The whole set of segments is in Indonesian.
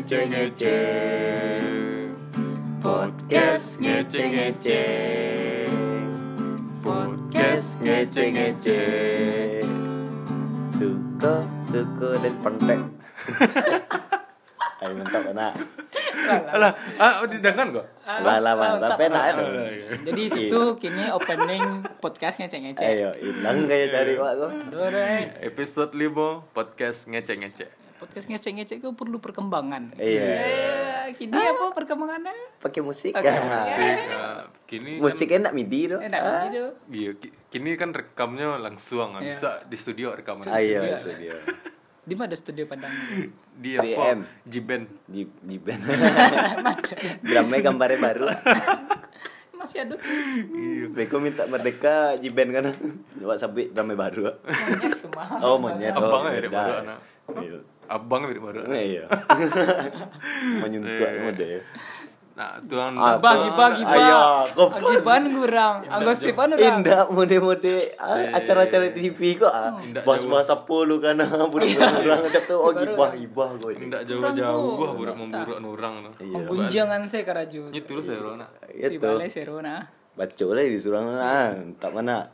ngece-ngece. Podcast ngece-ngece. Podcast ngece-ngece. Suka dan pendek. Ayo mantap anak. Alah, didengar kok. Mantap enak itu. Jadi itu kini opening podcast ngece-ngece. Ayo, hilang kayak cari Pak kok. Episode 5 podcast ngece-ngece. Podcast ngece-ngece itu perlu perkembangan. Iya. Kini apa perkembangannya? Pakai musik. Pakai Kini Musik kan, enak midi tuh. Enak gitu. iya, kini kan rekamnya langsung, Iya. bisa di studio rekaman. Ayo, Iya. studio. Di mana studio Padang? Di 3M. apa? Jiben. Di band. Drumnya gambarnya baru. Masih ada tuh. Beko minta merdeka Jiben kan. Buat sampai drumnya baru. Monyet tuh mah. Oh, monyet. Abang Oh, mirip beda. baru anak. Iya. Abang mirip baru anak. Iya. Menyuntuk mode. Nah, tuan Bagi. Ayo, kok Agiban kurang. Anggosipan orang. indah mode-mode acara-acara TV kok Indah bahas-bahas apa lu kan budak-budak orang ngecap tuh oh gibah kok ini. tidak Kurang jauh-jauh tuh. gua budak memburuk orang tuh. Iya. Gunjangan saya karaju. Itu lu saya rona. Itu Pribale serona. baca lah disuruh tak mana.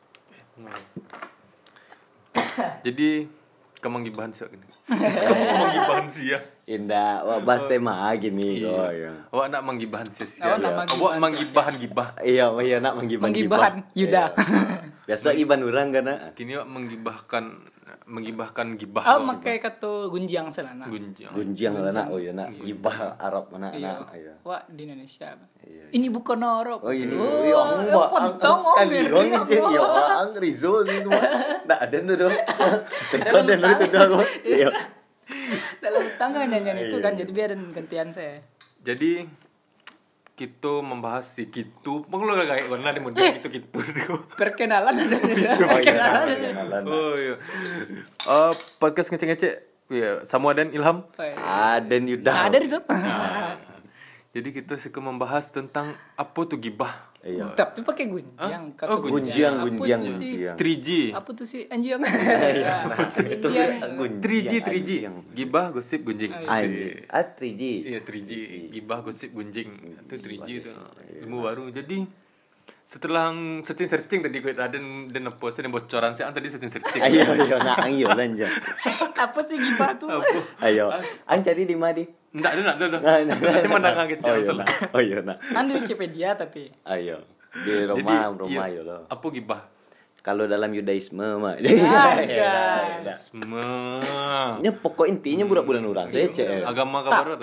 Jadi kemanggibahan sih gini. Kemanggibahan sih ya. Indah wak bahas tema gini kok ya. Awak nak manggibahan sih. Awak nak manggibahan Awak manggibahan gibah. Iya nak Menggibahan Yuda. Biasa iban orang kan. Kini awak menggibahkan gibah. Oh, makai kata gunjang selana. Gunjang. Gunjang lah nak oh ya nak gibah Arab mana Iya. nak ya. Wah, di Indonesia. Iya. Ini bukan Arab. Oh ini Oh, pontong kali dong ini ya ang Rizal itu ndak ada tuh dong. Tekon dan itu dong. Iya. Dalam tangga nyanyian itu Iya. kan, jadi biar gantian saya. Jadi kita membahas si gitu. Pengen lu kayak warna di model gitu. Perkenalan ada. Oh iya. Kenalan. Oh iya. Podcast ngece-ngece. Ya, Samuel dan Ilham. Aden Yuda. Ada di situ. Jadi kita suka membahas tentang apa tuh gibah. Iya. Tapi pakai gunjang. Hah? Oh, Gunjang. Apa tuh sih? 3G. Apa tuh sih anjing? Itu Anjing. 3G. Gibah, gosip, gunjing. Anjing. 3G. Iya 3G. Gibah, gosip, gunjing. Itu 3G itu. Ilmu baru. Jadi setelah searching tadi gue ada dan post dan bocoran sih tadi searching. Ayo nak ayo lanjut. Apa sih gibah tuh? Ayo. Ang cari di mana? Enggak ada. Ini menang gitu. Oh iya nak. Kan di Wikipedia tapi. Ayo. Di rumah yo lo. Apa gibah? Kalau dalam Yudaisme mah. Aja. Semua. Ini pokok intinya budak-budak orang. Saya cek. Agama kabar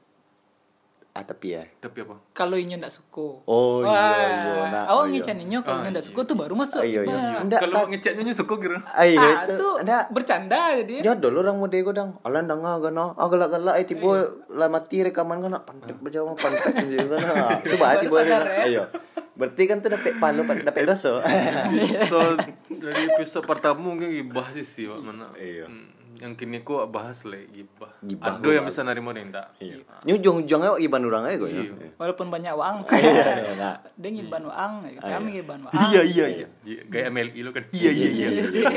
Tapi ya. tapi apa? kalau inyo ndak suka. Oh iya nak. Awak ngecan inyo kalau inyo ndak suka tuh baru masuk. Iya. Nah, Ndak Kalau ngeceknya suka kira. ayo itu. tuh Ndak. bercanda jadi. Ya dulu orang mode godang. Alan danga gana. Galak-galak tiba lah mati rekaman kan pantek berjauh pantek juga kan. Itu berarti Baru boleh. sadar, ya. Ayo. Berarti kan tuh dapat palu dapat dosa. So dari episode pertama mungkin gibah sih Pak mana. Iya. Yang kini ku bahas le gibah. Gibah Ada gua yang bisa nerima dan enggak. Iya. Ini ujung-ujungnya iban orang aja kok ya. Iya. Walaupun banyak uang. Iya, nah. Dia ngiban uang, kami ngiban uang. Iya. Kayak MLI lo kan. Iya.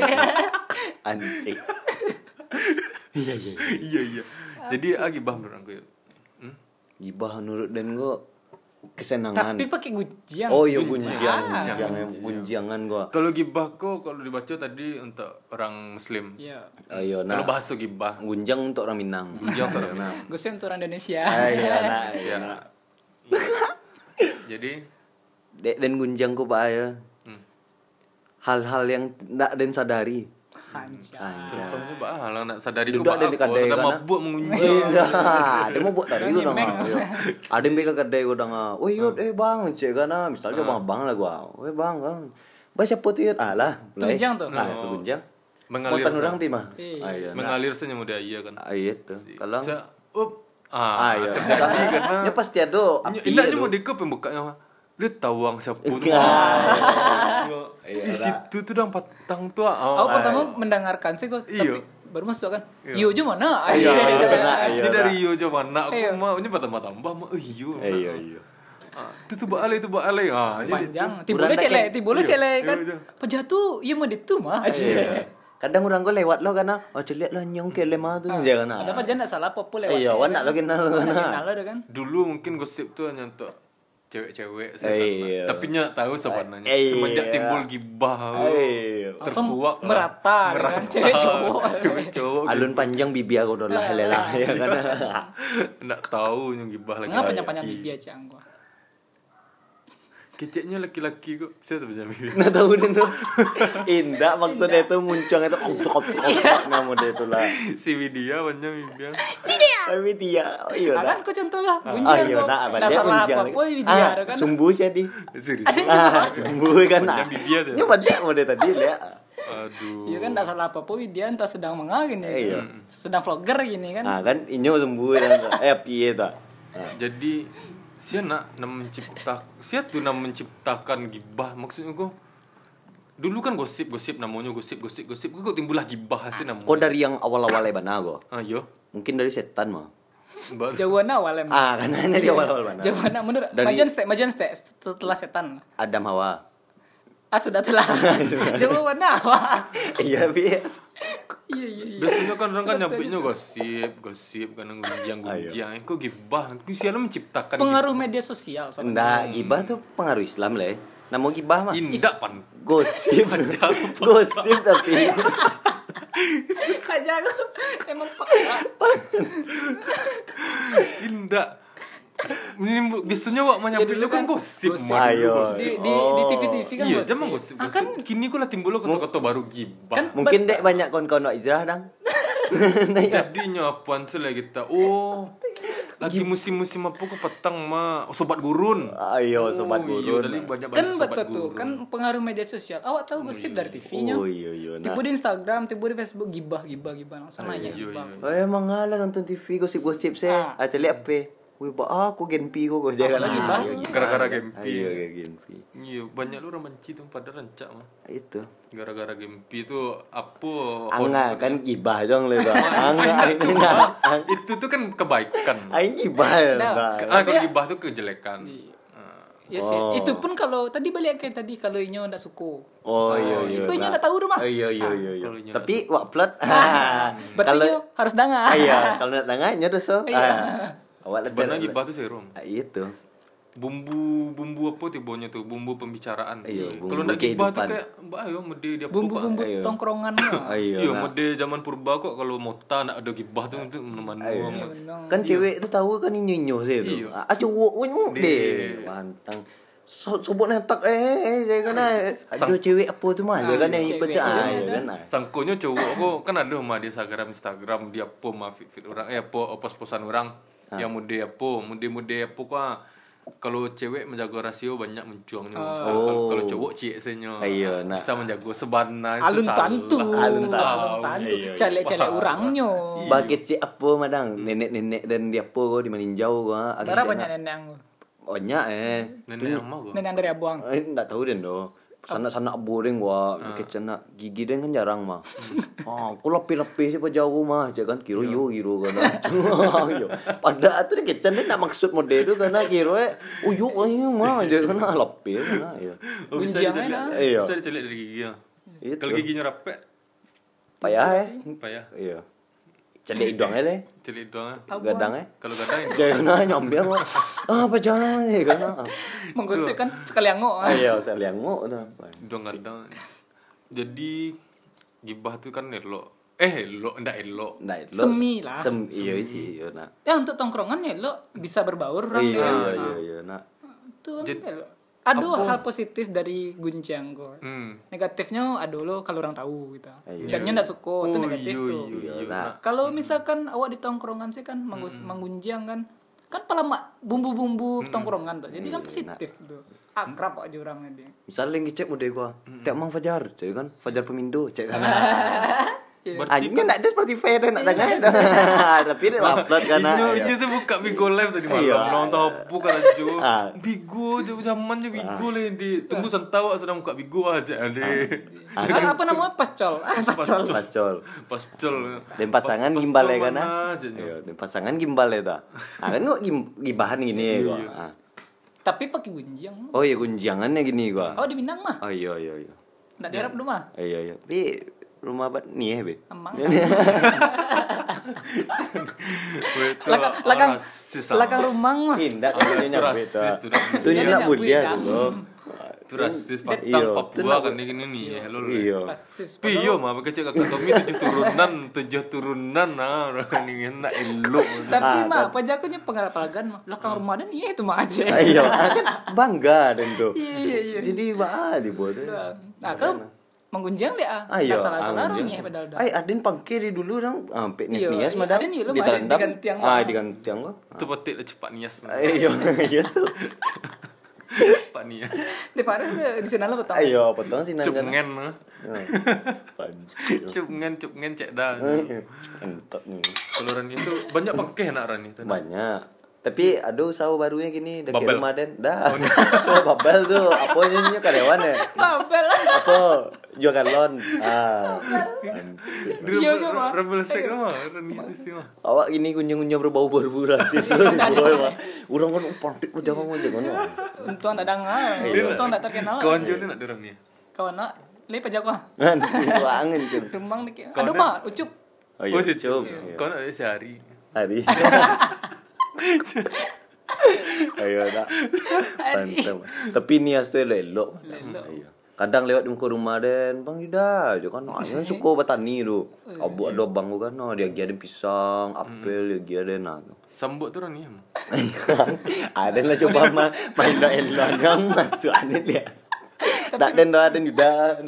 Antik. Iya. Iya. Jadi gibah menurut aku. Gibah menurut dan gua kesenangan. Tapi pakai gunjang. Oh iya Gunjang. gunjangan gua. Kalau gibah kok kalau dibaca tadi untuk orang muslim. Iya. Ayo Kalau nah. bahasa gibah. Gunjang untuk orang Minang. Gunjang untuk orang Minang. Gue sih untuk orang Indonesia. Ayo nah. Iya. Jadi Dek dan gunjang ku Pak ya. Hal-hal yang ndak den sadari. Anjay. contohnya bah lah nak sadari Duduk ku ada di kedai sudah kan, mabuk mengunjung. Nah, dia mau buat tadi gua Ngemeng. Ada yang beka kedai gua dong. Oh iya bang, cek kan misalnya bang lah gua. Bang. Bah siapa tuh ya? Alah, Tunjang tuh. Gunjang. Mengalir. Montan orang pi mah. Iya. Ayo. Mengalir saja mudah iya kan. Ayo tuh. Kalau Ayo. terjadi Karena ya pasti ada api. indahnya mau dikop pembukanya mah. Dia tawang siapa tuh. Di situ tuh dong patang tuh. Aku pertama mendengarkan sih kok, Iyo. tapi baru masuk kan. Iyo. Iyo aja mana? Iya. Ini dari iyo aja mana aku Iya. mau ini tambah mah iyo. Iya. Itu balik. Panjang. Kurang Tibolnya tak celek kan. Iya. Pejatuh iya mah itu mah. Iya. Kadang orang gue lewat lo karena lihat lah nyong ke lemah tuh jangan. Ada apa jangan salah apa lewat. Iya, wan nak lo kenal lo Kenal lo kan. Dulu mungkin gosip tuh hanya untuk cewek-cewek Iya. tapi nyak tahu sebenarnya Iya. semenjak timbul gibah Langsung terkuak merata kan cewek cowok. cewek-cowok Alun panjang bibi aku udah lelah ya kan. nggak tahu yang gibah lagi. Ngapa panjang bibi aja gua. Keceknya laki-laki kok saya tuh bibi. Nah tahu deh tuh. Indah maksudnya itu muncang itu untuk nama dia itu lah. Si Widya panjang bibi. Tapi dia, oh iya Kan ku contoh lah. Ah, Gunjang iya, kok. nak apa dia Salah unjang. apa dia kan. Sumbu sih di. Serius. Sumbu kan. Panjang bibi aja. Nyoba dia mau dia tadi lihat. Aduh. Iya kan enggak salah apa dia entah sedang mengagin ya. Iya. Sedang vlogger gini kan. Ah kan inyo sumbu kan. Piye ta? Jadi sia nak menciptakan gibah maksudnya kok. Dulu kan gosip namanya gosip kok timbullah gibah sih namanya. Kok dari yang awal-awalnya bana go? Ayo. Mungkin dari setan mah. Jauhan awal emang. Karena dia awal-awal bana. Jauhan menurut Dari- Majan stay setelah setan. Adam Hawa. Sudah telah. Jauhan awal. Iya bias. Iya. Biasanya kan orang kan nyampainya gosip kan gunjang. Kok gibah? Ku siapa menciptakan Pengaruh media sosial sama. Nggak, gibah tuh pengaruh Islam lah. Nama gibah mah indah pan. gosip. Gosip tapi Aja aku emang pakar. Indah. Ini biasanya wak menyampaikan dulu kan kan gosip. gosip. Mah, Ayo. dulu gosip. Di TV kan Iya, gosip. zaman gosip. Kan Kini kok lah timbul kata-kata baru gibah. Kan mungkin dek banyak kawan-kawan Ijrah dang. Jadinya apaan sih lah kita? Oh, lagi musim-musim apa ke petang mah? Oh, sobat gurun. Ayo sobat Iya, gurun. dari banyak-banyak kan sobat betul tuh gurun. kan pengaruh media sosial. Awak tahu gosip dari TV-nya. Oh iya. Nah. Tiba di Instagram, tiba di Facebook gibah langsung nanya iya, gibah. iya. Oh emang ngalah nonton TV gosip-gosip saya. Cari apa? Wih, aku Genpi kok jangan Apalagi, Bang? Gara-gara Genpi. Ayo Genpi. Iya, banyak lu orang benci tuh pada rencak mah. Itu. Gara-gara Gempi itu apa? Angga kan gibah dong le. Angga enggak. Itu tuh kan kebaikan. Aing gibah. Nah. Kalau gibah tuh kejelekan. Ya sih. Itu pun kalau tadi balik kayak tadi kalau inyo ndak suku. Oh iya. Kau inyo ndak tahu rumah. Iya. kalau inyo Tapi wak plot. Berarti inyo harus dengar. Iya, kalau nak tengahnya doh so. Awak sebenarnya gibah tuh serum. Itu. Bumbu apa tibonya tuh? Bumbu pembicaraan. Iya, bumbu Kalau ndak gibah tuh kehidupan. kayak mbak ayo mede dia Bumbu-bumbu Ayo. tongkrongannya. Ayo. Iya, Nah. mode zaman purba kok kalau mota nak ada gibah tuh untuk menemani. Kan cewek itu tahu kan inyo sih itu. Iya. Cowok unyu Deh. deh. Mantang. Sobot netak saya kan ada cewek apa tu mah dia kan yang cewek ipet juga ya ada. kan. Sangkonya cowok kok kan ada mah di Instagram dia apa mah fit orang apa pos-posan orang yang mode apa kok kalau cewek menjaga rasio banyak mencuangnya. Kalau cowok cieknya Iya, nah. bisa menjaga sebana itu Alun salah. tantu. Alun Tantu. Iya. Celek-celek orangnya. Bagi cik apa madang nenek-nenek dan dia apa di meninjau gua. Berapa banyak nenek yang Banyak Nenek yang mau nenek yang dari Abuang. Enggak tahu den do. Sana boring gua kecena gigi den kan jarang mah. Aku lebih-lebih sih jauh mah, jangan kiro kiro kan. Yo. Pada atuh kecen den nak maksud mode itu karena kiro uyu mah jangan lebih kan ya. Gunjangnya nah. Iya. Bisa dicelik dari giginya. Itu. Kalau giginya rapet, Payah payah. Iya. Celik idongnya deh. Celik doang. Gadang Kalau gadang jangan nyambil mah. Apa jangan ya kan. Menggosip kan sekali angok. Iya, saya liang mau dah. dong gadang. Jadi gibah tuh kan elok. Elok ndak elok. Nah, Semi lah. Iya sih, iya nah. Ya untuk tongkrongannya lo bisa berbaur orang. Iya, nah. Itu Jadi- kan ada hal positif dari Gunjang kok. Negatifnya ada lo kalau orang tahu gitu. Iya. Dannya ndak suka itu negatif tuh. Iya, Nah, nah. Kalau misalkan awak di tongkrongan sih kan menggunjang kan pala bumbu-bumbu tongkrongan tuh. Jadi kan positif tuh. Akrab aja orangnya dia. Misalnya yang ngecek mode gua, tiap mang Fajar, cek kan Fajar Pemindo, cek kan. berarti Anjingnya enggak ada Spotify dan enggak dengar. Tapi dia upload kan. Inyo saya buka Bigo Live tadi Iya. malam nonton apa kan aja. Bigo zamannya Bigo lah di tunggu sentau sedang buka Bigo aja ade. Apa namanya pascol? Pacol. Pascol. Dan pasangan gimbal ya kan. Aja. Iya, dan pasangan gimbal ya ta. Kan gua gibahan gini gua. Tapi pakai Gunjang. Oh iya gunjangannya gini gua. Oh di Minang mah. Oh iya. Ndak diharap dulu mah. Iya. Tapi rumah bat nih be. Emang. Lakang rumah mah. Indah tuh nyampe tuh. Tuh Dia nak nyampe, budia kan. tuh. Itu rasis Iya. Patang Papua kan ini nih ya lol. Iya. Rasis. Piyo mah kecil kakak kami 7 turunan nah orang ini enak elok. Tapi mah pajakunya pengalaman mah. Lakang rumah dan iya itu mah aja. Iya, kan bangga dan tuh. Iya. Jadi bah dibuat. Nah, kau menggunjang deh ah. Ayo, Salah-salah orangnya padahal dah. Ay, adin pangkir dulu dong, sampai Iya, nias-nias iya, madam. ada nih, lu Di ada terendam. diganti yang Diganti yang lo. Itu petik lah cepat nias. Iya, iya tuh. Pak nias. Di Paris tuh di sana lo betul. Ayo, potong sih nanggan. Cupngen mah. Panci. Cupngen cek dah. Entah nih. Keluaran itu banyak pakai nak ran itu. Banyak. Tapi aduh usaha barunya gini dekat Babel. rumah Den. Dah. Oh, Babel tuh. Apanya karyawan ya? Babel. Apa? Jual galon. Iya, coba. Rebel sek mah ran itu sih mah. Awak gini kunjung-kunjung berbau-bau rasis. Urang kan pantik jangan jangan. Untung ada dengar. Untung tak terkenal. Kawan Joni nak dorang ni. Kawan nak le pajakwa. Kan angin cun. Rumang dik. Aduh mah ucup. Oh si Cup. Iya. Kau nak ada sehari. Hari. Ayo dah. Mantap. Tapi nias tuh elok. Iya. Kadang lewat di muka rumah Den, Bang Yuda, kan ayo suka bertani tu. Abu ada bang kan, dia ada pisang, apel, dia ada nah. Sambut tu orang ni. Ada lah coba main elok yang masuk aneh dia. Tak Den ada Yuda.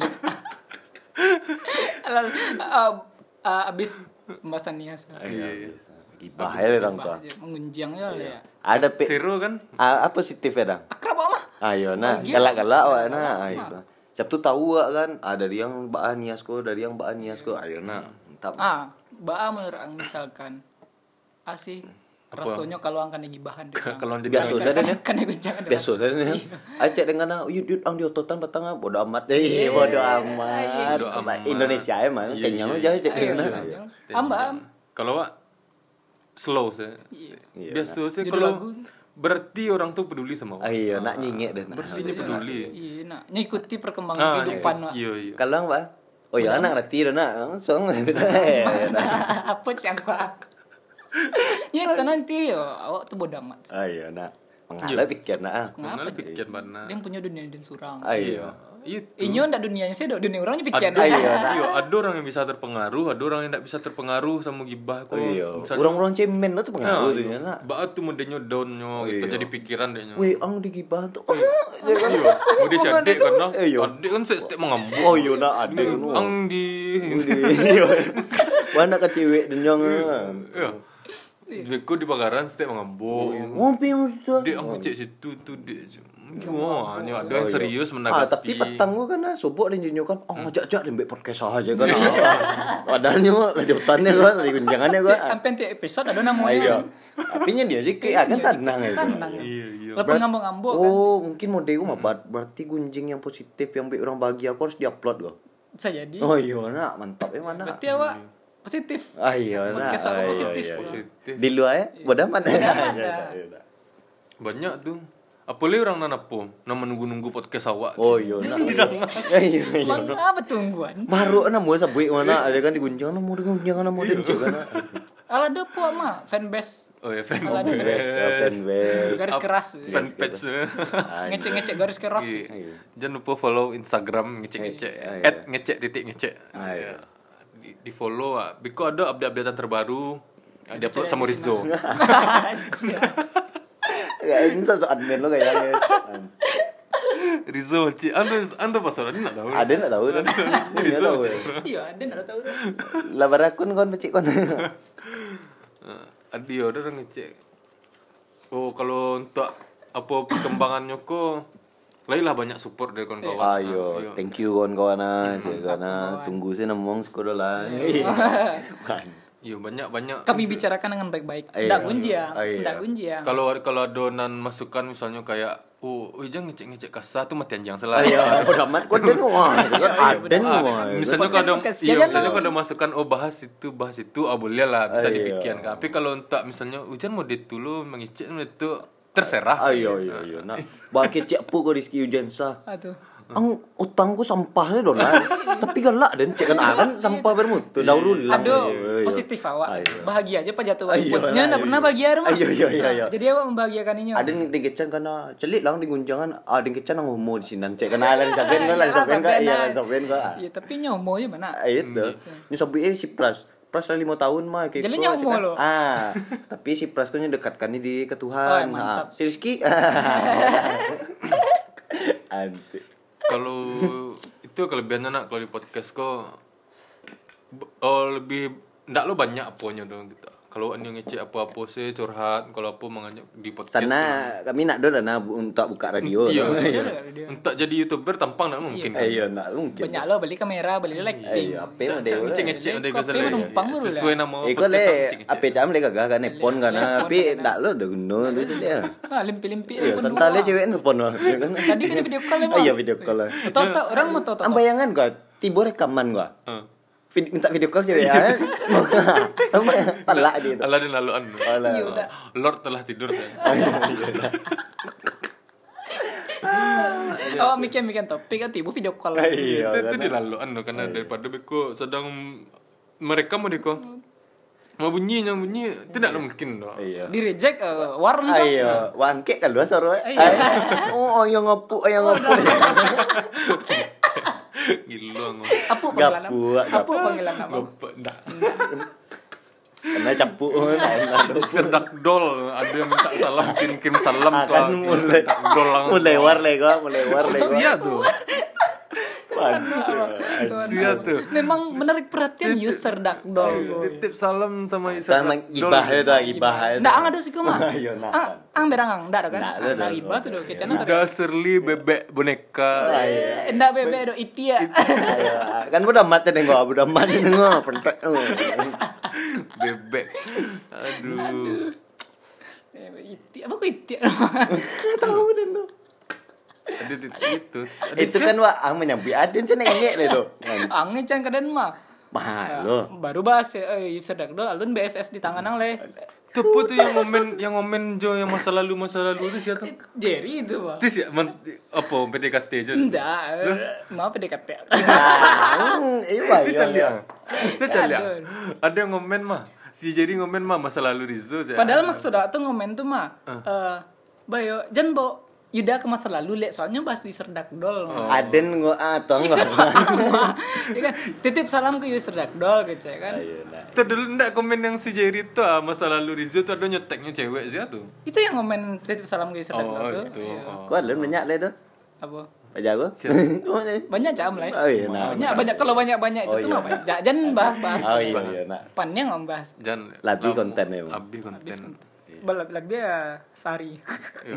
Abis pembahasan nias. Iya. Gibah ya orang tua. Mengunjang ya. Ada Seru kan? apa positif ya, Dang? Akrab mah. Ayo nah, galak-galak awak nah. Ayo. Sabtu tahu awak kan, dari yang baan niasko, dari yang baan niasko. Ayo nah, mantap. Baa menurut misalkan asih rasanya kalau angkan gibahan deh. Kalau jadi Biasa saja ya. Kan gunjang ada. Biasa saja ya. Acek dengan yud ang diototan petang bodo amat deh, bodo amat. Indonesia emang kenyang aja cek dengan. Amba. Kalau awak slow saya. Iya. Biasa saya Judul kalau lagu. berarti orang tu peduli sama awak. Ayo nak nyingek deh. Berarti dia peduli. Iya, nak ngikuti perkembangan kehidupan nak. Iya. Kalau Pak, oh ya anak reti dah nak, langsung. Apa sih aku? Ya kan nanti yo awak tuh bodoh amat. Ayo nak, mengalah pikir nak. Kenapa pikir mana? Dia punya dunia dan surang. Ayo. Inyo ndak dunianya saya dunia orangnya pikir. Ayo. Ada orang yang bisa terpengaruh, ada orang yang tidak bisa terpengaruh sama gibah kok. Iya. Orang-orang cemen lah tuh pengaruh tuh nak. Baat tu modelnya downnya, itu jadi pikiran dehnya. Weh, ang digibah tuh. Mudi si adik kan nah. Iya. Adik kan setiap mengambuk. Oh iya nak adik nu. Ang di. Mana ke cewek dan jangan. Iya. Beko di Pagaran setiap mengambuk. Ngopi mesti. Dia ang cek situ tu dia. Wah, ni ada yang serius menanggapi. Tapi petang gua kan sobok dan junyo kan, ngajak-ajak lembek podcast aja kan. Padahal nyo lagi hutannya kan, lagi gunjangannya kan. Sampai tiap episode ada namanya. Iya. Tapinya dia aja kan senang ya. Senang. Iya. Lepas ngambung-ngambung kan. Oh, mungkin model gua mah berarti gunjing yang positif yang baik orang bahagia aku harus diupload gua. Bisa jadi. Oh iya nak, mantap ya mana. Berarti awak positif. Ah iya nak. Podcast awak positif. Positif. Di luar ya, bodoh amat. Banyak tu. Apalagi orang nanapo, nama nunggu-nunggu podcast awak. Oh iya nak. Iya. Bang apa tungguan? Baru na mau sabui mana ada kan digunjang na mau digunjang na mau dincek kan. Ala ada po mah fanbase. Oh ya, fan Ala ada Fanbase. garis keras. fanpage. Ngecek-ngecek garis keras. Iya. Jangan lupa follow Instagram ngecek-ngecek. Iya. @ngecek_ngecek. Iya. Di follow ah. Biko ada update-updatean terbaru. Dia upload sama Rizzo. Ya ini sosok admin lo kayaknya. Rizzo, anda password nak tahu. Ada nak tahu kan? Rizzo. Iya, ada enggak tahu. Labar akun kon pecik kon. Ada orang ngecek. Oh, kalau untuk apa perkembangannya kok lah banyak support dari kawan-kawan. Ayo, thank you kawan-kawan karena tunggu saya ngomong sekolah lah. Iya, banyak. Kami bicarakan dengan baik-baik. Enggak gunjiang. Kalau ada nan masukan misalnya kayak jangan ngecek kasar tuh matian jangan salah. Ayo, udah mat kon den wah. Aden wah. Misalnya kalau ada masukan bahas itu boleh lah bisa dipikirkan. Tapi kalau tak misalnya hujan mau dulu mengecek itu terserah. Ayo. Nah, bagi cek pu ko Rizky Hujan sah. Aduh. utangku sampahnya dolar. Tapi galak dan cek kan sampah bermutu daur ulang. Aduh, positif awak. Bahagia aja Pak jatuh. Ayo, Nya enggak ayo. pernah bahagia rumah. Ayo. Jadi awak membahagiakan ini. Ada yang dikecan karena celik lang di gunjangan, ada yang kecan nang homo di sini. Cek kena ada sampean kan, sampean kan. Iya, tapi nyomo ya mana? Itu. Ini sobi si Pras 5 tahun mah kayak Jadi gua, nyomo cek kan. lo. Tapi si Pras kan dekatkan di ke Oh, Tuhan. mantap. Si Rizky. Anti. Kalau itu kelebihannya nak kalau di podcast kok lebih ndak lo banyak apanya dong gitu. Kalau anda ngecek apa-apa sih curhat, kalau apa mengajak di podcast. Sana kami nak do dana untuk buka radio. Iya. Dia. Untuk jadi YouTuber tampang ndak mungkin. Iya, nak mungkin. Banyak lo beli kamera, beli lighting. Iya, apa yang ada. Ngecek ada Kopi menumpang dulu lah. sesuai nama Iko le ngecek-ngecek. apa jam le gagah kan nepon kan Nepon tapi kan. ndak lo udah guna itu dia. Limpi-limpi. Iya, santai le cewek nepon lo. Tadi kan video call emang. Iya, video call. Tahu orang mau tahu. Am bayangan gua, tiba rekaman gua. Minta video call cewek ya. Palak dia. Allah dan laluan. Iya udah. Lord telah tidur saya. Oh, mikir topik kan tiba video call. Itu di laluan loh karena daripada beko sedang mereka mau deko mau bunyi tidak mungkin loh. Iya. Di reject warung sok. Ayo, wangke kan dua soro. Iya. Oh, ayo ngapuk. Gila ngomong. Apa panggilan nama? Gapuk. Apa panggilan nama? Ndak. Karena capuk. Sedak dol ada yang minta salam kirim salam tuh. Akan Dol langsung. mulai war le gua. Sia tuh. Sia tuh. Memang menarik perhatian user dakdol. Titip salam sama Sama gibah itu, gibah itu. Ndak ang ada sih mah. Ayo, nak. Ang berang ndak ada kan? Ndak ada. Gibah tuh do kecana tadi. Udah serli bebek boneka. Ndak bebe do itia. Kan udah mati nih gua, udah mati nih gua, pentek. Bebek. Aduh. Itia apa kok itia? Tahu dan lo. Ada itu. Itu kan wah ang menyambi aden cenah ingek le do. Angin can kaden mah. Mahal lo. Baru bahas user dakdol alun BSS di tangan ang le. Tepu tuh yang ngomen Jo yang masa lalu itu siapa? Jerry itu mah. Itu sih apa PDKT aja. Ndak, mau PDKT. Iya, iya. Itu cali. Ada yang ngomen mah. Si Jerry ngomen mah masa lalu Rizzo. Padahal maksud tuh ngomen tuh mah bayo jan bo Yuda ke masa lalu lek soalnya bahas user dakdol. Aden gua atau Iya enggak. kan titip salam ke user dakdol gitu ya kan. Itu dulu ndak komen yang si Jerry tuh masa lalu Rizzo tuh ada nyeteknya cewek sih tuh. Itu yang ngomen titip salam ke user dakdol tuh. Itu. Gua ada banyak le do. Apa? Aja gua. Banyak jam lah. Oh iya, nah. Banyak kalau banyak itu tuh mah banyak. Jangan bahas-bahas. Oh iya, nak. Pannya ngombahas. Jangan Lebih konten ya. Lebih konten. Balap dia sari. Iya.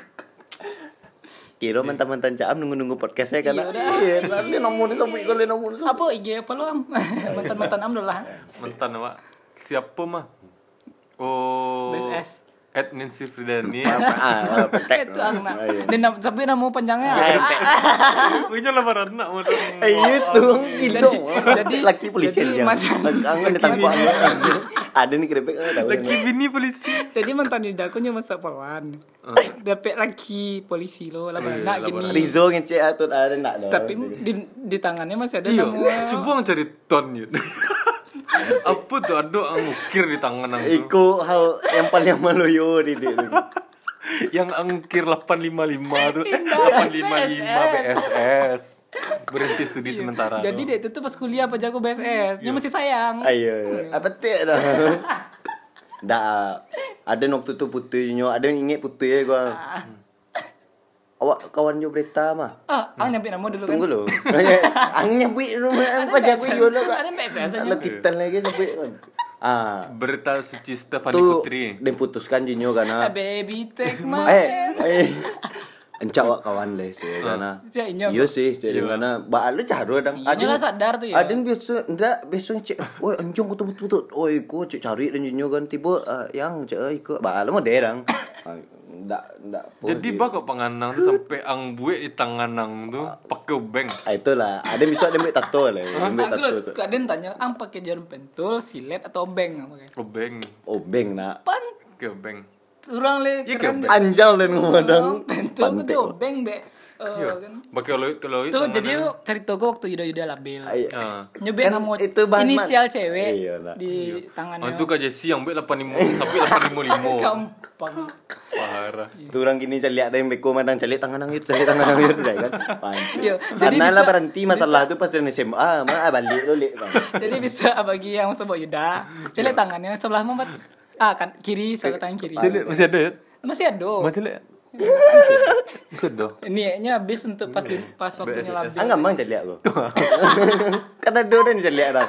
Kira mantan-mantan Caam nunggu-nunggu podcastnya kan. Iya, udah. Iya, nanti nomor itu sampai kali nomor itu. Apa IG apa lu am? Mantan-mantan am dulu lah. Mantan Pak. Siapa mah? Oh. BSS. Nancy Fridani. Petek. Itu ang nak. Dan sampai nama panjangnya. Punya lah barat nak modal. Itu gitu. Jadi- Laki polisi jadi aja. mantan- Kangen ditangkap. Ada nih keripik tahu. Lagi bini polisi. Jadi mantan Yuda aku nyoba sapawan. Dapat lagi polisi lo lah Iya, nak lah, gini. Rizo ngecek atut ada nak lo. Tapi di tangannya masih ada Iya. nama. Coba mencari ton gitu. Apa tuh ada angkir di tangan aku. Iku hal yang paling maluyo di dia. Yang angkir 855 tuh. 855 BSS. Berhenti studi sementara. Jadi dia itu tuh pas kuliah apa jago BSS. Dia masih sayang. Ayo, apa teh dah. Dah, ada waktu tu putihnya, ada yang ingat putih gua. Awak kawan jo berita mah. Ang nyampe nama dulu kan. Tunggu lo. Angin nyabui rumah apa jago yo lo. Ada BSS aja. Ada titan lagi sampai. Berita suci Stefani Tu Putri. diputuskan jinyo Ah, kana. baby take my hand. Encak wak kawan le sih kana. Cak, inyo. Iya sih, jadi kana ba lu caro dang. Iya lah sadar tuh ya. Adin biasa ndak biasa cek. Oi anjong betul-betul. Oi ko cek cari dan jinyo kan tiba yang cek ikut ba lu mah derang. Ndak. Jadi bak panganang tuh sampai ang buek di tanganang tuh pakai bank. Itulah, ada bisa ada tato lah. Ambil tato Aku tu. kadang tanya, ang pakai jarum pentul, silet atau beng? Oh bank. Obeng nak. Pan Ke bank. orang le Iya, keren kayak deh. Anjal dan ngomong Bentuk aku tuh obeng be. Kan. Pakai loit Tuh jadi yuk cari togo waktu yuda-yuda labil. Ah. Nyobek Kan nama itu bahas inisial cewek Iya, nah. di Oh, tangannya. itu Kak Jesse yang bet 85 sampai 855. Gampang. Parah. Tuh orang gini cari ada yang beko madang cari tangan nang itu kan. Yo, jadi Sana lah bisa- berhenti masalah itu pas dari SMA, balik dulu. Jadi bisa bagi yang sebut yuda, celek tangannya sebelah mamat. Kan kiri, sebelah tangan kiri. Masih ada ya? Masih ada. Masih ada. Sudah. Niatnya habis untuk pas waktunya labil. Enggak mang cari aku. Karena dua dan cari ada.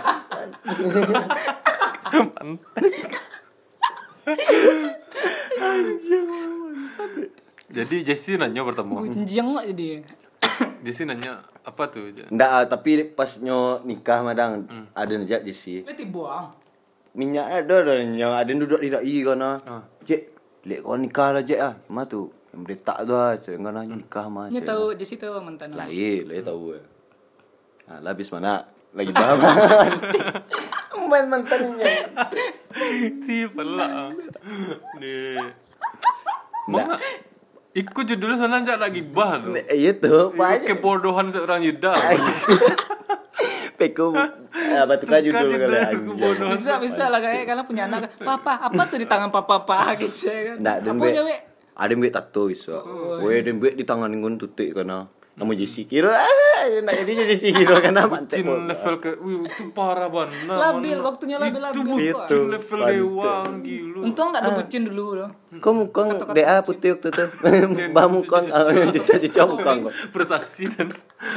Jadi Jesse nanya pertama. Gunjang nggak jadi. Jesse nanya apa tuh? Nggak, tapi pas nyo nikah madang ada nejak di si. Berarti buang. Minyak ada yang ada yang duduk tidak i kana. Cek, lek kau nikah lah cek ah. Mah tu yang berita tu ah, cek kana nikah mah. Ini tahu Jesse tahu mantan. Lain tahu. Nah, lah habis mana? Lagi paham. Main mantannya. Si pelak. Nih. Mana? Ikut judulnya sana aja lagi bah tuh. Itu banyak. Kebodohan seorang Yuda. Peko apa tuh kan judul kali anjing. Bisa lah kayak kalian punya anak. Papa, apa tuh di tangan papa gitu kan? Nggak, dan Apa be- aja we? ada yang buat tato bisa. Weh, dan buat di tangan ngun tutik kana. Nama Jesse kira nak jadi Jesse kira kana mantek. Bucin level ke, wih itu parah banget. Labil, waktunya labil. Itu Itu. bucin level dewang gila. Untung nggak ada bucin dulu loh. Kau mukang DA putih waktu tu. Bah mukang cuca mukang kau. Prestasi dan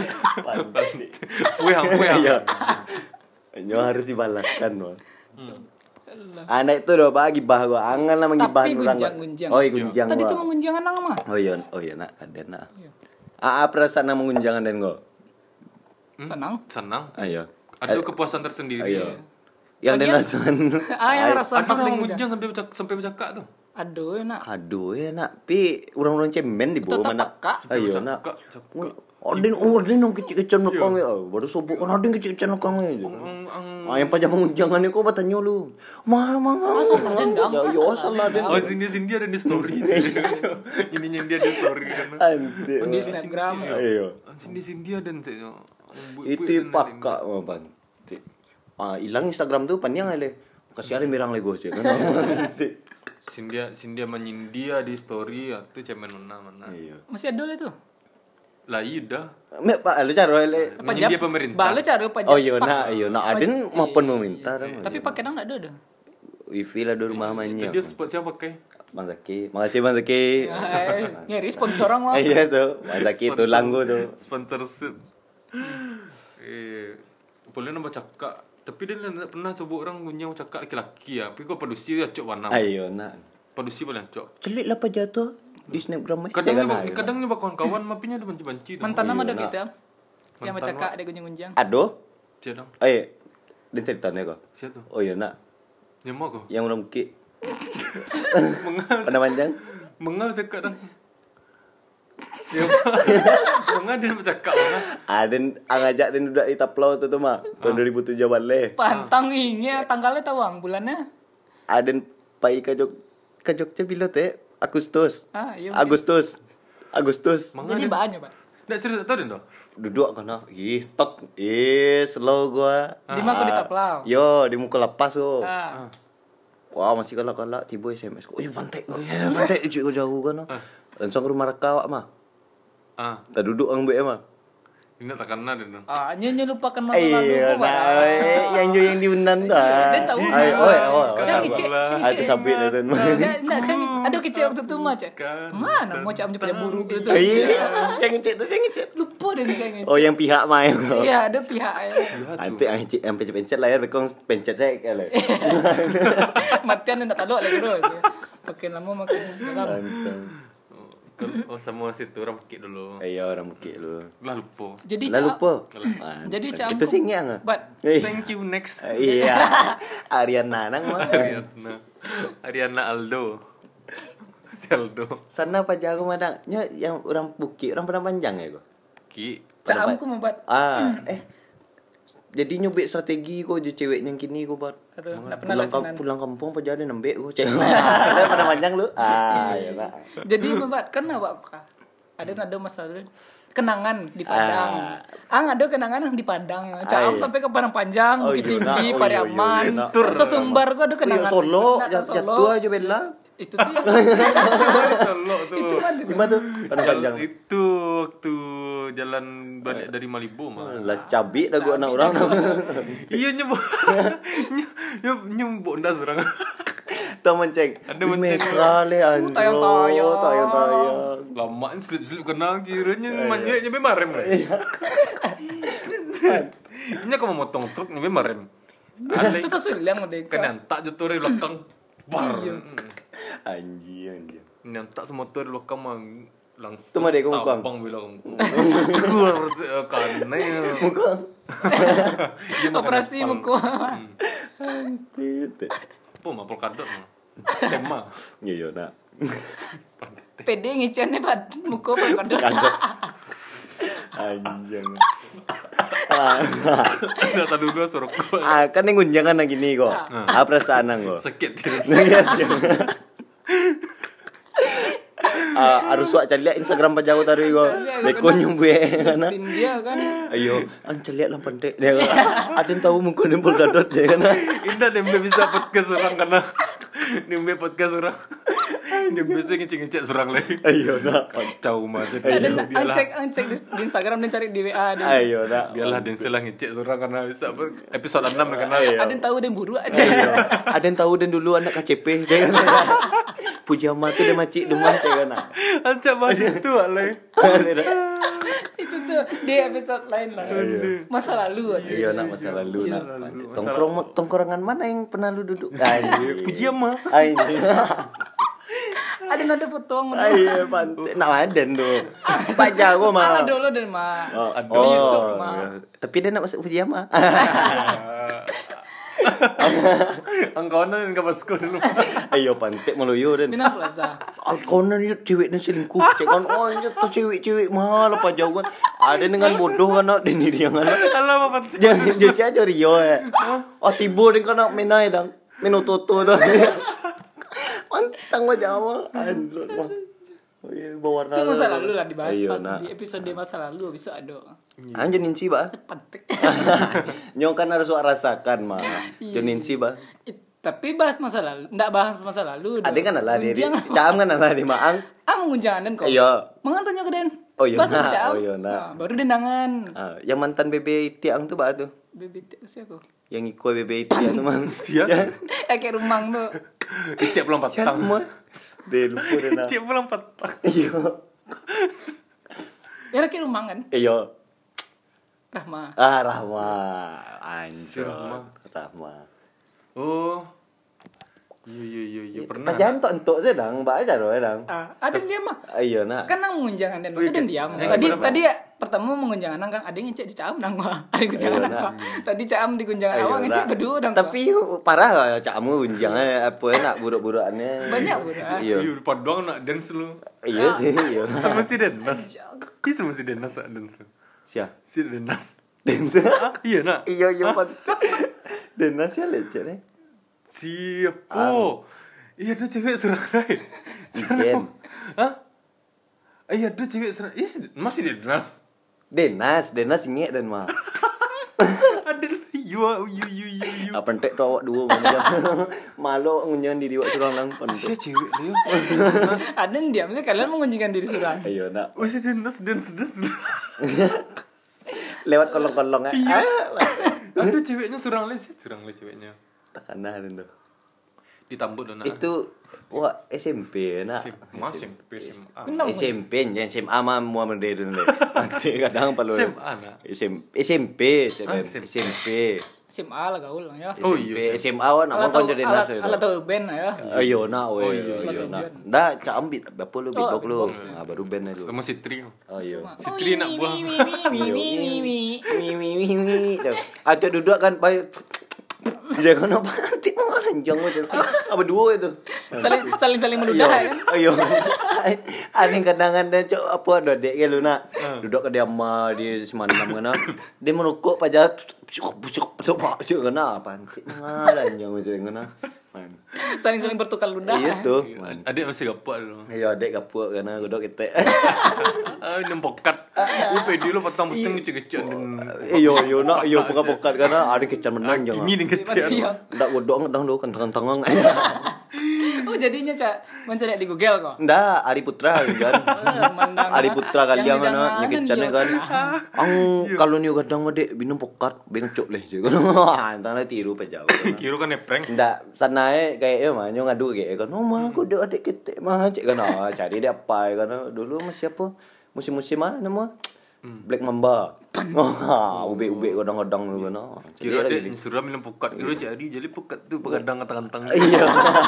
Wehang. Iya. Nyo harus dibalaskan loh. Anak itu doh bagi bah gua angan lah mengibah Tapi orang. gunjang. Oh, gunjang Tadi tuh gua. mengunjang anak mah. Oh iya nak ada nak. Perasaan nak mengunjangan dan gua. Senang. senang. Ayo. Ada kepuasan tersendiri. Ayo. Yang Bagian- dan rasakan. Yang rasa Ada pas yang lagi mengunjang sampai bercakap tuh. Aduh enak. Aduh ya nak, pi orang-orang cemen di bawah Tetap mana? peka. Ayo nak. Cakap. Odin dong kecil-kecil belakang ya. Baru sobok kan Odin kecil-kecil belakang ya. Yang pajak mengunjangan kau bertanya lu. Mah. Asal dendam, Ya, asal asal ada. Oh sini dia ada di story. Ininya dia ada di story kan. Anjir. Di Snapgram. Ayo. Sini dia dan Itu pakak apa? Hilang Instagram tuh panjang aja. Kasih ada mirang lego aja kan. Sindia menyindia di story ya tuh cemen mana. Iya. Masih ada lah tuh. Lah iya dah. Mek pak lu caro le. Menyindia pemerintah. Balu cari pajak. Oh iya nak Aden maupun pemerintah. Tapi pakai nang enggak ada. Wifi lah di rumah Itu mannya. dia spot siapa pakai? Bang Zaki, makasih Bang Zaki. Ngeri sponsor orang mah. Iya tuh, Bang Zaki tuh langgo tuh. Sponsorship. Boleh nambah cakap. Tapi dia tidak pernah coba orang punya cakap laki-laki ya. Tapi kau padusi dia cok warna. Ayo nak. Padusi paling cok. Celik lah pak jatuh di Snapgram. Kadang nyoba kawan-kawan mapinya ada banci-banci. Mantan nama ada Iya, kita. Yang Mantan bercakap ada gunjang-gunjang. Aduh, Siapa dong? dan ceritanya kok. Siapa tuh? Oh iya nak, Nyemok kok. yang orang bukit. Mengal. Pada panjang. Mengal cakap dong. Ya, mengal dia bercakap mengal. Aden ngajak dan udah itaplau tuh mah tahun 2007 balik. Pantang ini tanggalnya tawang bulannya. Aden pai ke Jogja bila teh Agustus. Iya. Agustus. Jadi banyak, Pak. Nggak cerita tahu dong. Duduk kana. Stok. Slow gua. Di mana aku ditaplau? Yo, di muka lepas tuh. Wah, masih kalak-kalak tiba SMS. Oh, pantai. Oh, ya, pantai jauh kan. Langsung ke rumah reka mah. Tak duduk ang mah. Ini tak kenal dia dong. Nyanyi lupakan masa lalu Iya, gua. yang jo yang diunan dah. Dia tahu. Saya ngecek. Ada sabit lah tuh. Saya ada kecil waktu itu mah, Cek. Mana mau cak pada buruk gitu. Iya, yang ngecek. Lupa dan saya ngecek. Oh, yang pihak mah. Iya, ada pihak ya. Nanti yang pencet layar bekong pencet saya kali. Matian enggak tahu lagi bro. Makin lama makin dalam. Oh sama situ orang pakai dulu. Iya, orang bukit lu. Lah lupa. Jadi Lalu po. Jadi cak Itu sih nggak? But Thank you next. Iya. Ariana nang mah. Ariana Aldo. Aldo. Sana apa jago madangnya yang orang bukit, orang pernah panjang ya gua. Ki. cak amku membuat jadi nyubik strategi kok je cewek yang kini kok Bat. Aduh, enggak pernah lasinan. Pulang kampung apa jadi nembek kok cewek. Ada pada panjang lu. Ya nak. Jadi Mbak kan awak ada masalah kenangan di Padang. Ada kenangan yang di Padang. Caam sampai ke Padang Panjang, Bukit Tinggi, Pariaman. Sesumbar gua ada kenangan. Solo, jatuh aja Bella. Itu tuh ya. Solo tuh. Itu mah di Gimana tuh? Padang panjang. Itu waktu jalan balik dari Malibu mah. Lah cabi dah gua anak orang. Iya nyembok ndas orang. Tahu menceng. Ada menceng. Mesra le anjro. Tayang. Lama slip kena kiranya manjeknya be marem. Ini aku mau motong truk nyampe marem. Itu tuh silang udah. Kan tak jatuh dari belakang. Bar. Anjing. Nyantak semotor di belakang mah langsung. Itu mah dek ngukang. Tampang bilang. Keluar karena operasi muka. Anjing. Apa mah polkadot mah. Tema. Iya nak. PD ngicennya bad muka polkadot. Anjing. Data dulu suruh Kan yang gunjangan lagi nih kok. Perasaan kok. sakit. Harus suak cari Instagram pajago tadi kok. Beko nyumbe kana. Dia kan. Ayo, cari lah pandai. Dia ada yang tahu muka nempel gadot dia kana. Indah dembe bisa podcast orang karena dembe podcast orang. Dembe bisa ngecek orang lagi. Ayo nak. Kacau macam. Cek di Instagram dan cari di WA dia. Ayo nak. Biarlah den selah ngecek orang karena bisa episode 6 karena Ada yang tahu dan buru aja. Ada yang tahu dan dulu anak KCP dia kan. Pujama tu dia macik demam dia kan. Ancak bahas itu alay. Itu tuh di episode lain lah. Masa lalu aja. Iya nak masa lalu nak. Tongkrongan mana yang pernah lu duduk? Puji ama. Ada nada potong. Iya pantai. Nak ada tu. Pak Jago mah. Dulu dan mah. Ada YouTube mah. Tapi dia nak masuk Pujama. Angkauan enggak masuk dulu. Ayo pantai meluyu dan. Minang Plaza. Alkonan itu cewek dan selingkuh. Cek kan tu cewek-cewek mahal Pak Jago kan. Ada dengan bodoh kan nak dan dia kan. Alah apa? Jangan jadi aja Rio tibo dengan nak menai dang. Menototo dah. Pantang mah Jawa. Anjir mah. Bawarna. Itu masa lalu lah dibahas Ayo, pas nak. di episode masa lalu bisa ada. Jonin si ba? Pantek. Nyong kan harus rasakan mah. Jonin si ba? Tapi bahas masa lalu, enggak bahas masa lalu. Ada kan lah di Gunjang. Caam kan lah di Maang. Mengunjangan dan kok. Iya. Mengantanya ke Den. Oh iya, Bahas nak. Caam. Oh iya, nak. Nah, baru dendangan. Yang mantan bebe Tiang tu ba tu? BBT siapa? Yang ikut bebe Tiang tu mah. Siap. Kayak rumang tuh. Tiap pulang Siapa patang. mah? Dia lupa dia nak. Tiap pulang patang. Iya. Ya kayak rumang kan? Iya. Rahma. Rahma. Anjir. Rahma. Oh. Iya pernah. Jangan entok je dang, ba aja doh dang. Ada dia mah. Iya nak. Kan nang mengunjangan dan itu dan diam. Tadi pertama mengunjangan kan ada yang ngecek di Caam nang mah. Ada gunjangan nang. Tadi Caam di gunjangan awak ngecek berdua dang. Tapi parah Camu gunjangan apa nak buruk-burukannya. Banyak bro. Iya. Iya padang nak dance lu. Iya sih, iya. Sama si Dennas. Iya sama si Dennas dance lu. Siapa? Si Dennas. Dance. Iya nak. Iya pan. Dance ya lecet nih. Siapa? Iya ada cewek serang lain. Iken. Hah? Iya ada cewek serang. Masih Dennas. Denas ingek dan mah. Ada yu. Apa entek tu awak dua macam. Malu ngunjang diri awak surang lang Siapa pantek. cewek dia? Ada yang diam. Maksudnya kalian mengunjingkan diri surang. Ayo nak. Oh si Dennas dance. Lewat kolong-kolong Iya. Ada ceweknya serang lain ceweknya. Takana tu. Ditambut dona. Itu wah SMP nak. Masih SMA. SMP jangan SMA mah mua mende dulu. Nanti kadang perlu. SMA nak. SMP SMP. SMP. SMA lah gaul lah ya. Oh iya. SMA awak nak mau jadi nas. Alat tahu band ya. Ayo nak we. iya, Ayo nak. Dah cambit berapa lu beatbox lu. Baru band aja. Sama si Tri. Oh iya. Si Tri nak buang. Mi. Ada duduk kan baik. Jangan apa nanti mau lanjang macam. Apa dua itu? Saling meludah kan. Ayo. Aning kenangan dan cok apa ada dek ke lu nak. Duduk ke dia ama di Semanam kana. Dia merokok pajak busuk kana pantik ngalan yang macam kana. Saling-saling bertukar ludah. Iya tuh. Adik masih gapok dulu. Iya dek kapuk kana godok ketek. Nempokat. Lu pedi lu petang mesti kecil-kecil dan Iyo nak iyo pokat-pokat kana ada kecan menang jangan. gini nih kecil. Ndak godok ngedang do kentang-kentangan. Oh jadinya mencari di Google kok. Ndak Ari Putra kan. Ari Putra kalian kana nyekecane kan. Ang kalau ni gadang dek minum pokat bengcok leh. Antara tiru pe jauh. Kira kan prank. Ndak sanae kayak mah nyo ngadu kayak kan. Oh mah aku dek adik ketek mah cek kan. Cari dia apa kan dulu masih apa? Musim-musim mah nama Black Mamba. Ube-ube kadang-kadang tu kan. Kira dia suruh minum pukat. Kira jadi pukat tu pegadang kantang-kantang. Iya.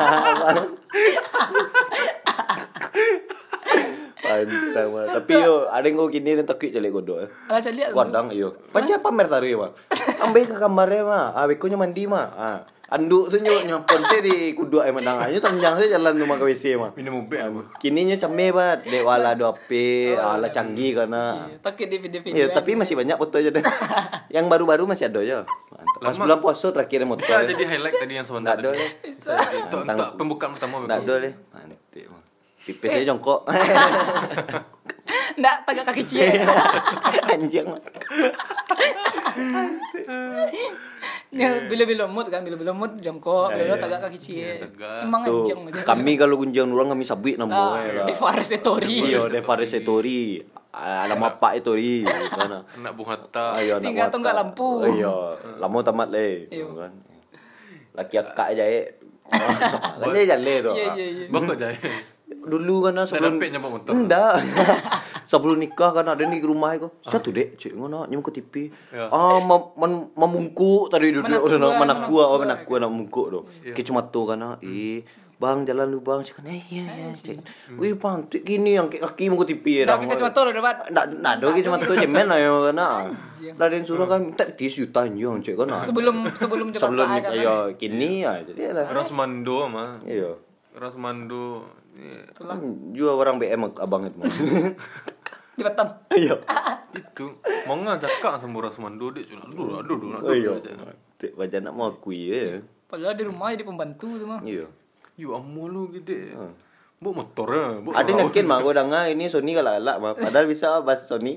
Pantang mah. Tapi yo ada yang kini dan takut calik godok. Alah cari lihat. Wadang iyo. Panjang pamer taruh mah. Ambil ke kamarnya mah. Beko nya mandi mah. Anduk tu nyampon saya di kuduk mandang aja tanjang saya jalan rumah ke WC mah. Minum ube apa? Kini nya came bat. Dek wala 2P, ala canggih kana. Takut di video-video. Iya, tapi masih banyak foto aja deh. Yang baru-baru masih ada aja. Pas bulan puasa terakhir motor. Bisa jadi highlight tadi yang sebentar. Nggak ada deh. Itu untuk pembukaan pertama. Nggak ada deh. Pipis aja jongkok. Nggak tagak kaki cie. Anjing. Bila-bila mood kan, bila-bila mood jongkok, bila tagak kaki cie. Emang Tuh, anjing aja. kami kalau gunjang orang kami sabit namo lah. Deforestatori. Iya, deforestatori. Alam apa itu ri kana. Anak Bung Hatta. Ayo nak. Tinggal tunggal lampu. Iya, lama tamat le. Iyo. Kan. Laki akak aja kan dia jalan tu. Iya. Bakal jaya. Dulu kan sebelum Lepek nyampak motor. Enggak. Sebelum nikah kan ada di rumah aku. Satu dek, cik ngono nyum ke TV. Ya. Memungkuk tadi duduk Menakku, menakku nak mungkuk tu. Ke cuma tu kan bang jalan lu bang cik kan iya cik. Wih bang gini yang kaki mau ke TV Dah kita cuma tur dapat. Ndak do cuma tu cemen lah yo kan. Lah den suruh kan minta 30 juta yo cik kan. Sebelum Sebelum nikah yo kini jadi lah. Rosmando mah. Iya. Rosmando. Jual orang BM abang itu. Di Batam. Iya. Itu mau ngajak sama Rosmando dia cuma aduh. Iya. Tik baca nak mau akui ya. Padahal di rumah jadi pembantu tu mah. Iya. Yu amu lu gede. Bawa motornya. Ada yakin mah gua dengar ini Sony galak mah. Padahal bisa bahas Sony.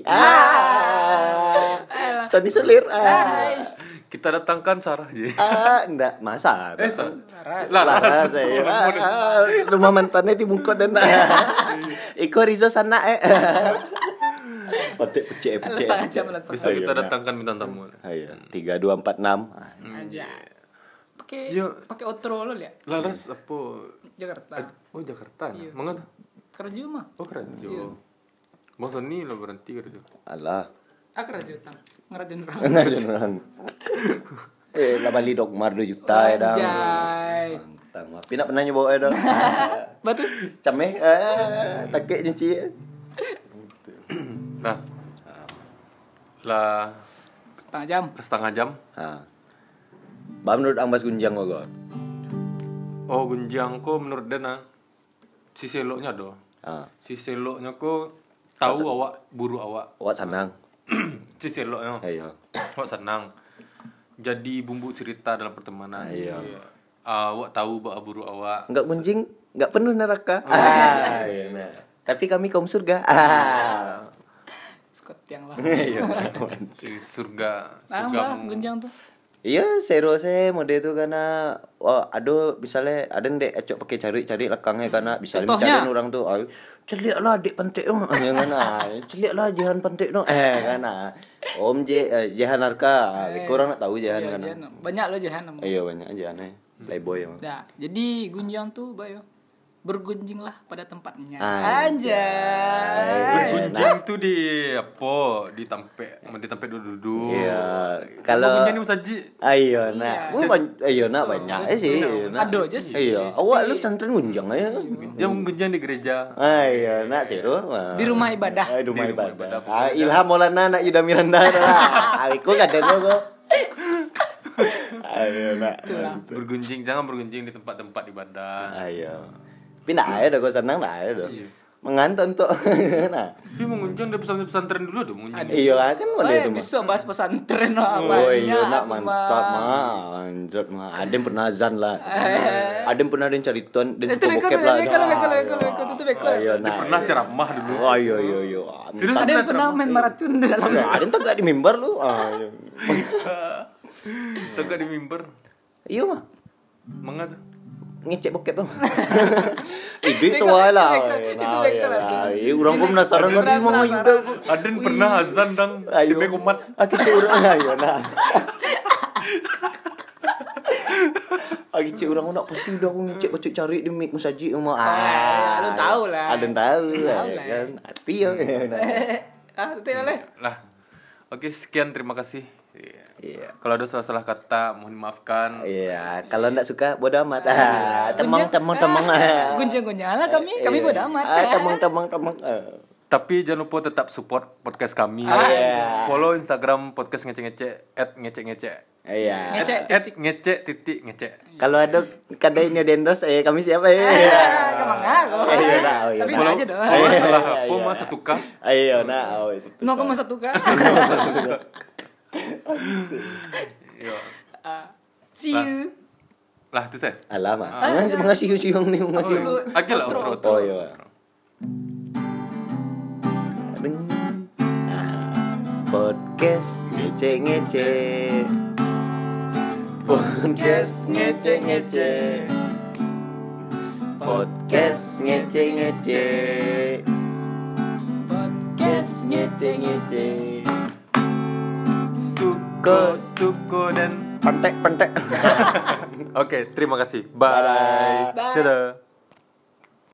Sony selir. Kita datangkan Sarah je. Enggak, masa. Laras. Rumah mantannya di Bungkot dan Iko Rizo sana Patik pecek. Setengah jam lah. Bisa kita datangkan bintang tamu. Iya, 3246. Aja. Yo. Pakai outro lo lihat. Laras apa? Jakarta. Oh Jakarta. Iya. Mengapa? Kerja mah. Oh Kerja. Bang Sony lo berhenti kerja. Alah. Kerja tang. Ngerajain orang. Ngajen orang. Lah bali Dogmar 2 juta ya dah. Anjay. Mantap. Tapi nak pernah nyoba ya dah. Batu. Cameh takik nyuci. Nah. Lah Setengah jam. Bah menurut Ambas Gunjang kok. Oh Gunjang ko menurut Dana si seloknya do. Si seloknya ko tahu awak buru awak. Awak senang. Si seloknya. Iya. Awak senang. Jadi bumbu cerita dalam pertemanan. Iya. Awak tahu bak buru awak. Enggak gunjing, enggak penuh neraka. Iya nah. Tapi kami kaum surga. Scott yang lah. Iya. Di surga. Nambah Gunjang tuh. Iya, seru saya mode itu karena aduh misalnya ada ndek acok pakai cari lekangnya karena bisa Contohnya? cari orang tuh. Celiaklah adik pantek dong. Jangan celiaklah jahan pantek dong. Kan Om Jahan Arka. Kurang nak tahu jahan kan. Banyak lo jahan. Iya banyak jahannya. Playboy emang. Nah, jadi Gunjang tuh bayo bergunjinglah pada tempatnya. Anjay. Bergunjing tuh di apa? Di tempe duduk. Iya. Kalau gunjing ni musaji. Ayo nak. Ayo nak banyak sih. Aduh je sih. Iya. Awak lu santren gunjang aja. Jam gunjing di gereja. Ayo nak seru. Di rumah ibadah. Di rumah ibadah. Ilham Maulana nak Yuda Miranda lah. Aku kadang kok. Ayo nak. Jangan bergunjing di tempat-tempat ibadah. Ayo. Tapi nak ada kau senang nak ada. mengantar untuk nah. Tapi mengunjung dari pesantren dulu dong mengunjung. Iya kan Oh, boleh ya, itu mah. bisa bahas pesantren lah Oh iya banyak, nak tuh, mantap mah. Anjir mah. Ada yang pernah azan lah. Ada yang pernah ada yang cari tuan dan Itu beko, bokep lah. itu beko. Ayo Dia pernah ceramah dulu. Oh iya. Serius Ada yang pernah main maracun di dalam. Ada yang tak di mimbar lu. Iya. Tegak di mimbar. Iya mah. Mengapa? Ngecek bokep tuh. Itu wae lah. Itu beko lah. Iya, orang pun penasaran kan di mana juga. Aden pernah azan dang. Ayo. Di Mekomat. Kita orang ayo nah. Cik orang nak pasti udah aku ngecek bacuk cari di mik musaji mah. Lu tahu lah. Ada yang tahu lah kan. Tapi ya. Itu oleh. Lah. Oke, sekian terima kasih. Iya. Kalau ada salah-salah kata mohon maafkan. Iya, kalau enggak suka bodo amat. Temang. Guncang-guncang lah kami bodo amat. Temang. Tapi jangan lupa tetap support podcast kami. Iya. Follow Instagram podcast ngecek-ngecek @ngecek-ngecek. Iya. @ngecek_ngecek. Kalau ada ini ada endorse kami siapa ya? Kemang aku. Iya, nah, oh iya. Tapi Follow aja dong. salah Iya, apa iya. mas 1K. Ayo nah, oh itu. 0,1 kan. Iya. See you. Lah itu saya. Alamak. Mengasih siung nih, mengasih. Oke lah outro. Oh iya. Podcast ngece-ngece. Podcast ngece-ngece. Podcast ngece-ngece. Podcast ngece-ngece. Suko dan Pentek. Oke, terima kasih. Bye. Bye. Dadah.